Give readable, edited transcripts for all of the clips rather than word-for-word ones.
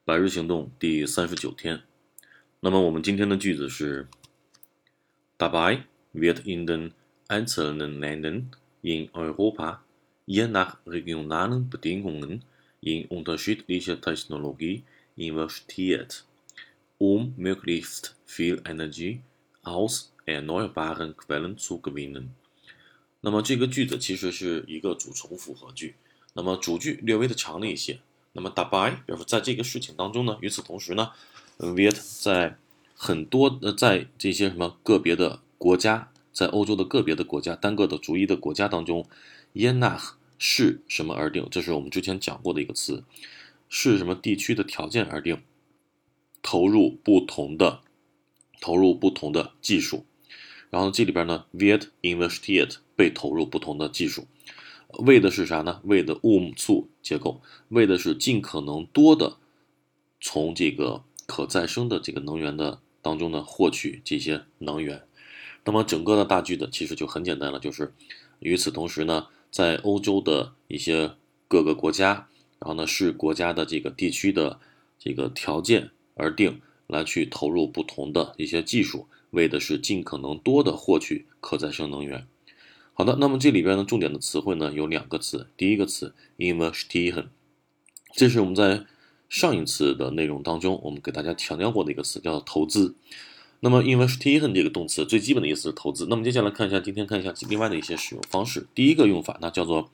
百日行动第39天。那么我们今天的句子是 Dabei wird in den einzelnen Ländern in Europa je nach regionalen Bedingungen in unterschiedliche Technologie investiert, möglichst viel Energie aus erneuerbaren Quellen zu gewinnen。那么这个句子其实是一个主从复合句，那么主句略微的长了一些。那么 dabei 表示在这个事情当中呢，与此同时呢 wird 在很多在这些什么个别的国家，在欧洲的个别的国家，单个的逐一的国家当中 je nach 是什么而定，这是我们之前讲过的一个词，是什么地区的条件而定，投入不同的技术。然后这里边呢 wird investiert 被投入不同的技术，为的是啥呢？为的zu 结构，为的是尽可能多的从这个可再生的这个能源的当中呢获取这些能源。那么整个的大句子其实就很简单了，就是与此同时呢，在欧洲的一些各个国家，然后呢是国家的这个地区的这个条件而定，来去投入不同的一些技术，为的是尽可能多的获取可再生能源。好的，那么这里边呢重点的词汇呢有两个词，第一个词 investieren， 这是我们在上一次的内容当中我们给大家强调过的一个词，叫投资。那么 investieren 这个动词最基本的意思是投资。那么接下来今天看一下另外的一些使用方式。第一个用法呢叫做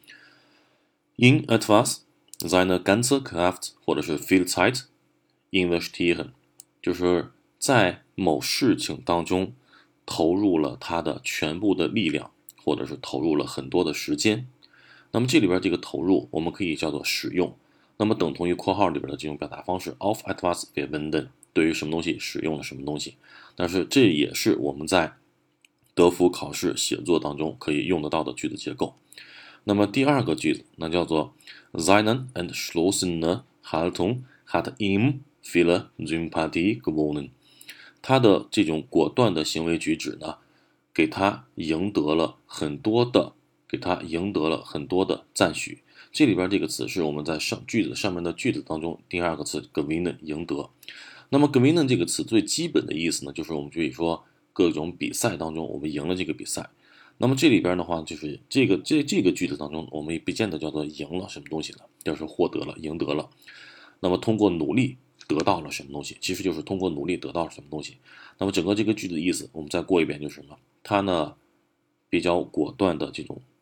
in etwas seine ganze Kraft 或者是 viel Zeit investieren， 就是在某事情当中投入了他的全部的力量，或者是投入了很多的时间。那么这里边这个投入我们可以叫做使用，那么等同于括号里边的这种表达方式 auf etwas verwenden， 对于什么东西使用了什么东西。但是这也是我们在德福考试写作当中可以用得到的句子结构。那么第二个句子那叫做 seine entschlossene Haltung hat ihm viele Sympathie gewonnen， 他的这种果断的行为举止呢给他赢得了很多的赞许。这里边这个词是我们在句子上面的句子当中第二个词 gewinnen 赢得。那么 gewinnen 这个词最基本的意思呢，就是我们可以说各种比赛当中我们赢了这个比赛。那么这里边的话就是这个句子当中我们也不见得叫做赢了什么东西了，就是获得了赢得了。那么通过努力得到了什么东西，其实就是通过努力得到了什么东西。那么整个这个句子的意思我们再过一遍，就是什么，他呢比较果断的这种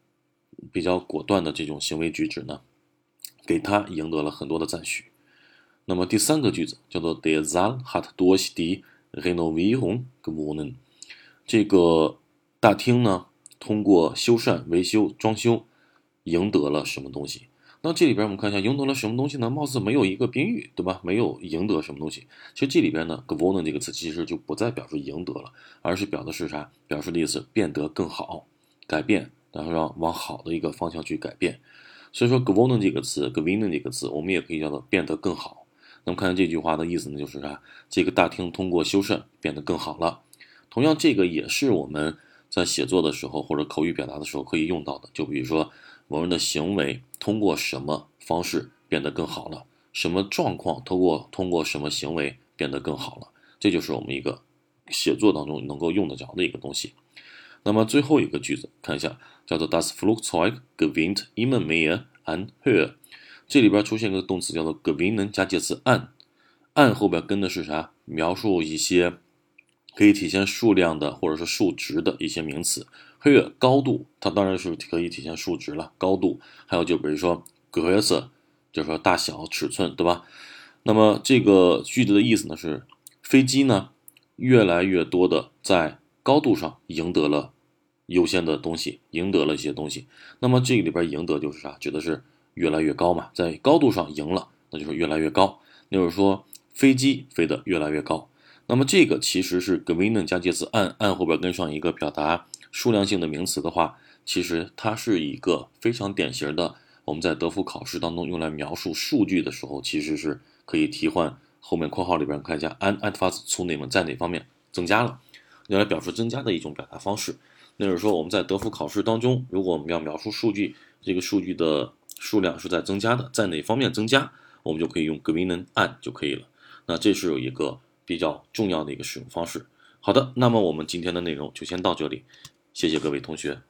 行为举止呢给他赢得了很多的赞许。那么第三个句子叫做 Der Saal hat durch die Renovierung gewonnen， 这个大厅呢通过修缮、维修、装修赢得了什么东西。那这里边我们看一下赢得了什么东西呢，貌似没有一个宾语，对吧？没有赢得什么东西。其实这里边呢 gewonnen 这个词其实就不再表示赢得了，而是表的是啥？表示的意思变得更好，改变，然后让往好的一个方向去改变。所以说 gewonnen 这个词 gewinnen 这个词我们也可以叫做变得更好。那么看这句话的意思呢，就是啥？这个大厅通过修缮变得更好了。同样这个也是我们在写作的时候或者口语表达的时候可以用到的，就比如说某人的行为通过什么方式变得更好了，什么状况通过什么行为变得更好了，这就是我们一个写作当中能够用得着的一个东西。那么最后一个句子看一下，叫做 Das Flugzeug gewinnt immer mehr an Höhe， 这里边出现一个动词叫做 gewinnen 加介词 an 后边跟的是啥？描述一些可以体现数量的或者是数值的一些名词。Höhe 高度，它当然是可以体现数值了，高度。还有就比如说 Größe 就是说大小尺寸，对吧？那么这个句子的意思呢是飞机呢越来越多的在高度上赢得了优先的东西，赢得了一些东西。那么这个里边赢得就是啥？指的是越来越高嘛，在高度上赢了，那就是越来越高。那就是说飞机飞得越来越高。那么这个其实是 gewinnen 加介词 an 后边跟上一个表达数量性的名词的话，其实它是一个非常典型的我们在德福考试当中用来描述数据的时候，其实是可以替换后面括号里边看一下 an etwas zunehmen 在哪方面增加了，用来表示增加的一种表达方式。那就是说我们在德福考试当中，如果我们要描述数据，这个数据的数量是在增加的，在哪方面增加， 我们就可以用 gewinnen an 就可以了。那这是有一个比较重要的一个使用方式。好的，那么我们今天的内容就先到这里，谢谢各位同学。